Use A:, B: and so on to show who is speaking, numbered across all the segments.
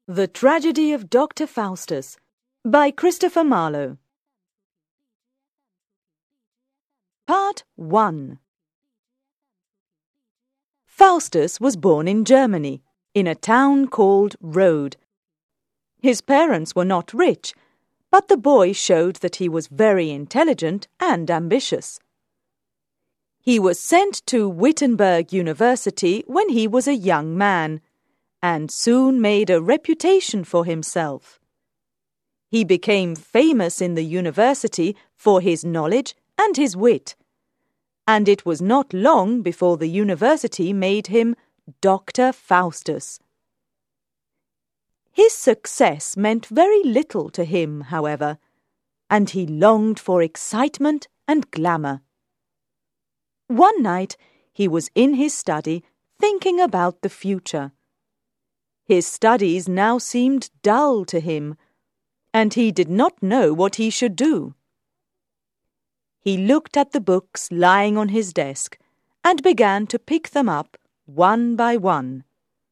A: The Tragedy of Dr. Faustus by Christopher Marlowe. Part 1. Faustus was born in Germany, in a town called Rode. His parents were not rich, but the boy showed that he was very intelligent and ambitious. He was sent to Wittenberg University when he was a young man, and soon made a reputation for himself. He became famous in the university for his knowledge and his wit, and it was not long before the university made him Dr. Faustus. His success meant very little to him, however, and he longed for excitement and glamour. One night he was in his study thinking about the future. His studies now seemed dull to him, and he did not know what he should do. He looked at the books lying on his desk and began to pick them up one by one.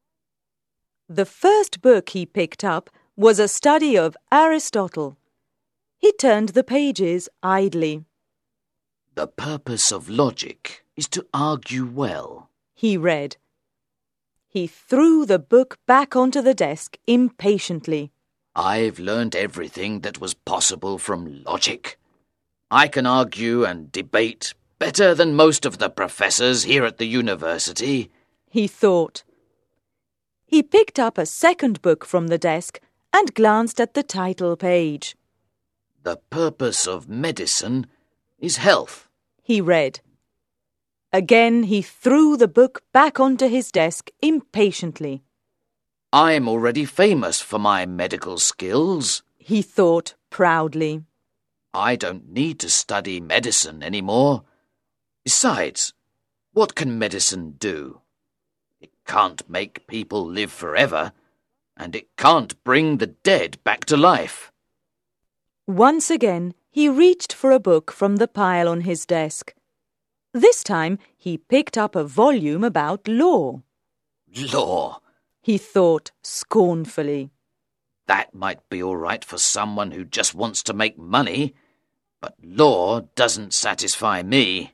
A: The first book he picked up was a study of Aristotle. He turned the pages idly.
B: "The purpose of logic is to argue well,"
A: he read. He threw the book back onto the desk impatiently.
B: "I've learned everything that was possible from logic. I can argue and debate better than most of the professors here at the university,"
A: he thought. He picked up a second book from the desk and glanced at the title page.
B: "The purpose of medicine is health,"
A: he read. Again he threw the book back onto his desk impatiently.
B: "I'm already famous for my medical skills,"
A: he thought proudly.
B: "I don't need to study medicine anymore. Besides, what can medicine do? It can't make people live forever, and it can't bring the dead back to life."
A: Once again he reached for a book from the pile on his desk. This time he picked up a volume about law.
B: "Law,"
A: he thought scornfully.
B: "That might be all right for someone who just wants to make money, but law doesn't satisfy me."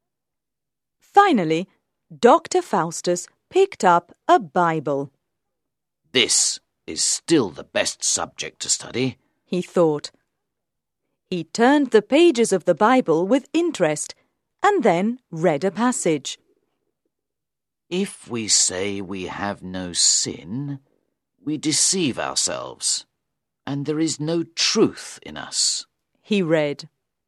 A: Finally, Dr. Faustus picked up a Bible.
B: "This is still the best subject to study,"
A: he thought. He turned the pages of the Bible with interest and then read a passage.
B: "If we say we have no sin, we deceive ourselves, and there is no truth in us,"
A: he read.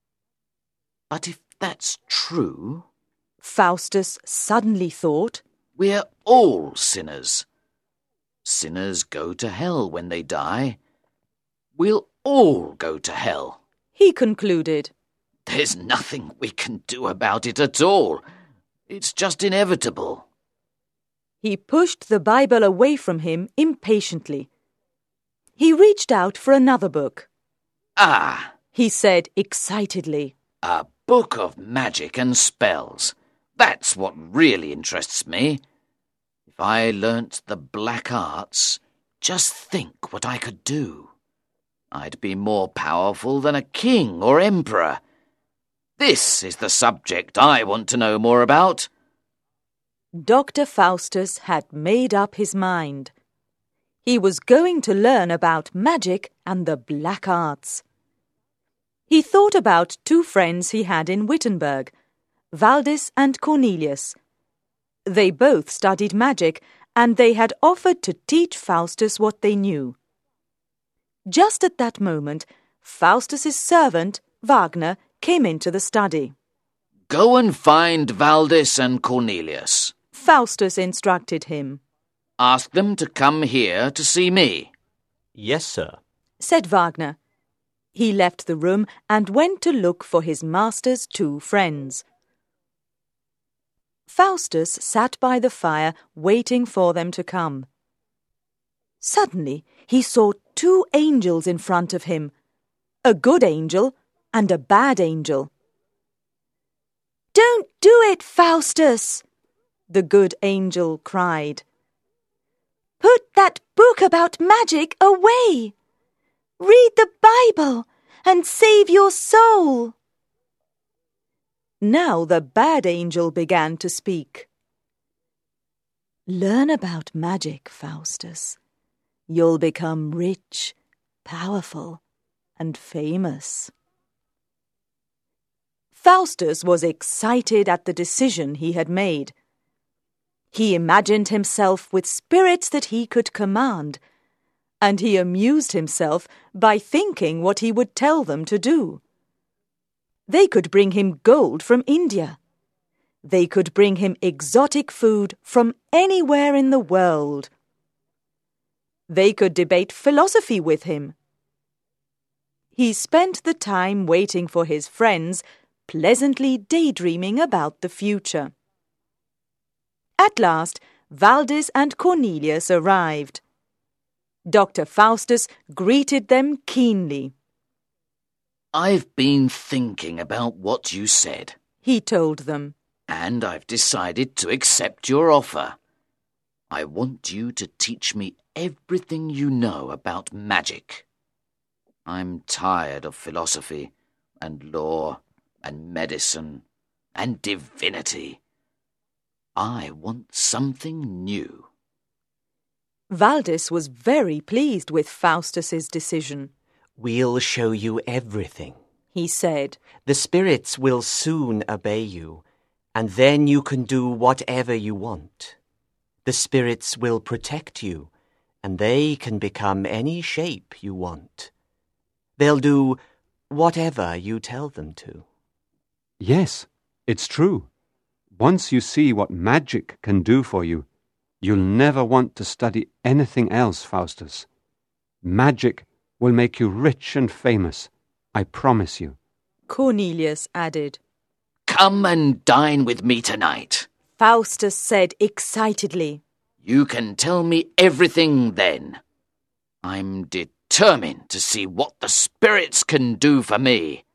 B: "But if that's true,"
A: Faustus suddenly thought,
B: "we're all sinners. Sinners go to hell when they die. We'll all go to hell,"
A: he concluded.
B: "There's nothing we can do about it at all. It's just inevitable."
A: He pushed the Bible away from him impatiently. He reached out for another book.
B: "Ah,"
A: he said excitedly.
B: "a book of magic and spells. That's what really interests me. If I learnt the black arts, just think what I could do. I'd be more powerful than a king or emperor. This is the subject I want to know more about."
A: Dr. Faustus had made up his mind. He was going to learn about magic and the black arts. He thought about two friends he had in Wittenberg, Valdis and Cornelius. They both studied magic, and they had offered to teach Faustus what they knew. Just at that moment, Faustus's servant, Wagner, came into the study.
B: "Go and find Valdis and Cornelius,"
A: Faustus instructed him.
B: "Ask them to come here to see me."
C: "Yes, sir,"
A: said Wagner. He left the room and went to look for his master's two friends. Faustus sat by the fire waiting for them to come. Suddenly he saw two angels in front of him, a good angel and a bad angel. "Don't do it, Faustus!" the good angel cried. Put that book about magic away. Read the Bible and save your soul. Now the bad angel began to speak. Learn about magic, Faustus. You'll become rich, powerful, and famous. Faustus was excited at the decision he had made. He imagined himself with spirits that he could command, and he amused himself by thinking what he would tell them to do. They could bring him gold from India. They could bring him exotic food from anywhere in the world. They could debate philosophy with him. He spent the time waiting for his friends, pleasantly daydreaming about the future. At last, Valdis and Cornelius arrived. Dr. Faustus greeted them keenly.
B: I've been thinking about what you said,
A: he told them.
B: And I've decided to accept your offer. I want you to teach me everything you know about magic. I'm tired of philosophy and law and medicine and divinity. I want something new.
A: Valdis was very pleased with Faustus's decision.
C: We'll show you everything,
A: he said.
C: The spirits will soon obey you, and then you can do whatever you want. The spirits will protect you, and they can become any shape you want. They'll do whatever you tell them to.
D: Yes, it's true. Once you see what magic can do for you, you'll never want to study anything else, Faustus. Magic will make you rich and famous, I promise you.
A: Cornelius added.
B: Come and dine with me tonight,
A: Faustus said excitedly.
B: You can tell me everything then. I'm determined to see what the spirits can do for me.